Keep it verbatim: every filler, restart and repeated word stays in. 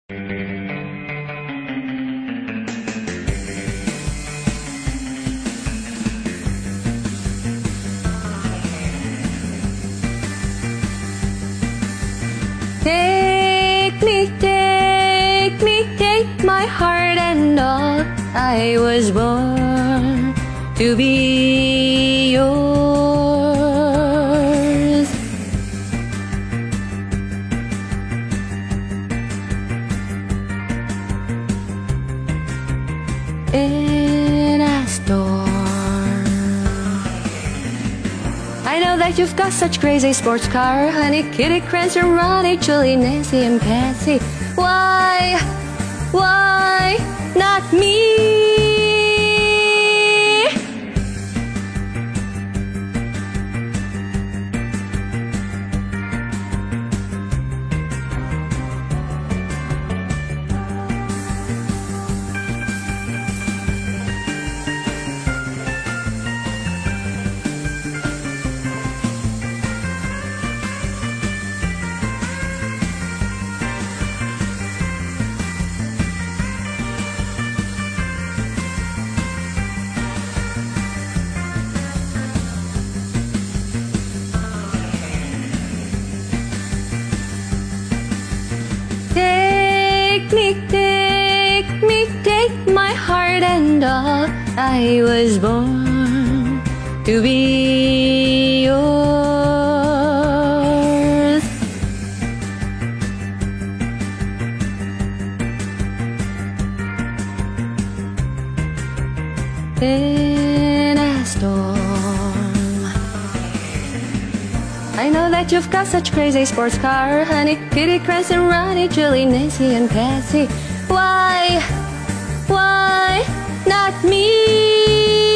Take me, take me, take my heart and all. I was born to be yours. In a storm, I know that you've got such crazy sports car, honey, Kitty, Crancer, Ronnie, Julie, Nancy, and Patsy. Why, why not me? Take me, take me, take my heart and all. I was born to be yours. In a storm, I know that you've got such crazy sports car, honey, Kitty, Crancer, Ronnie, Julie, Nancy, and Patsy. Why, why not me?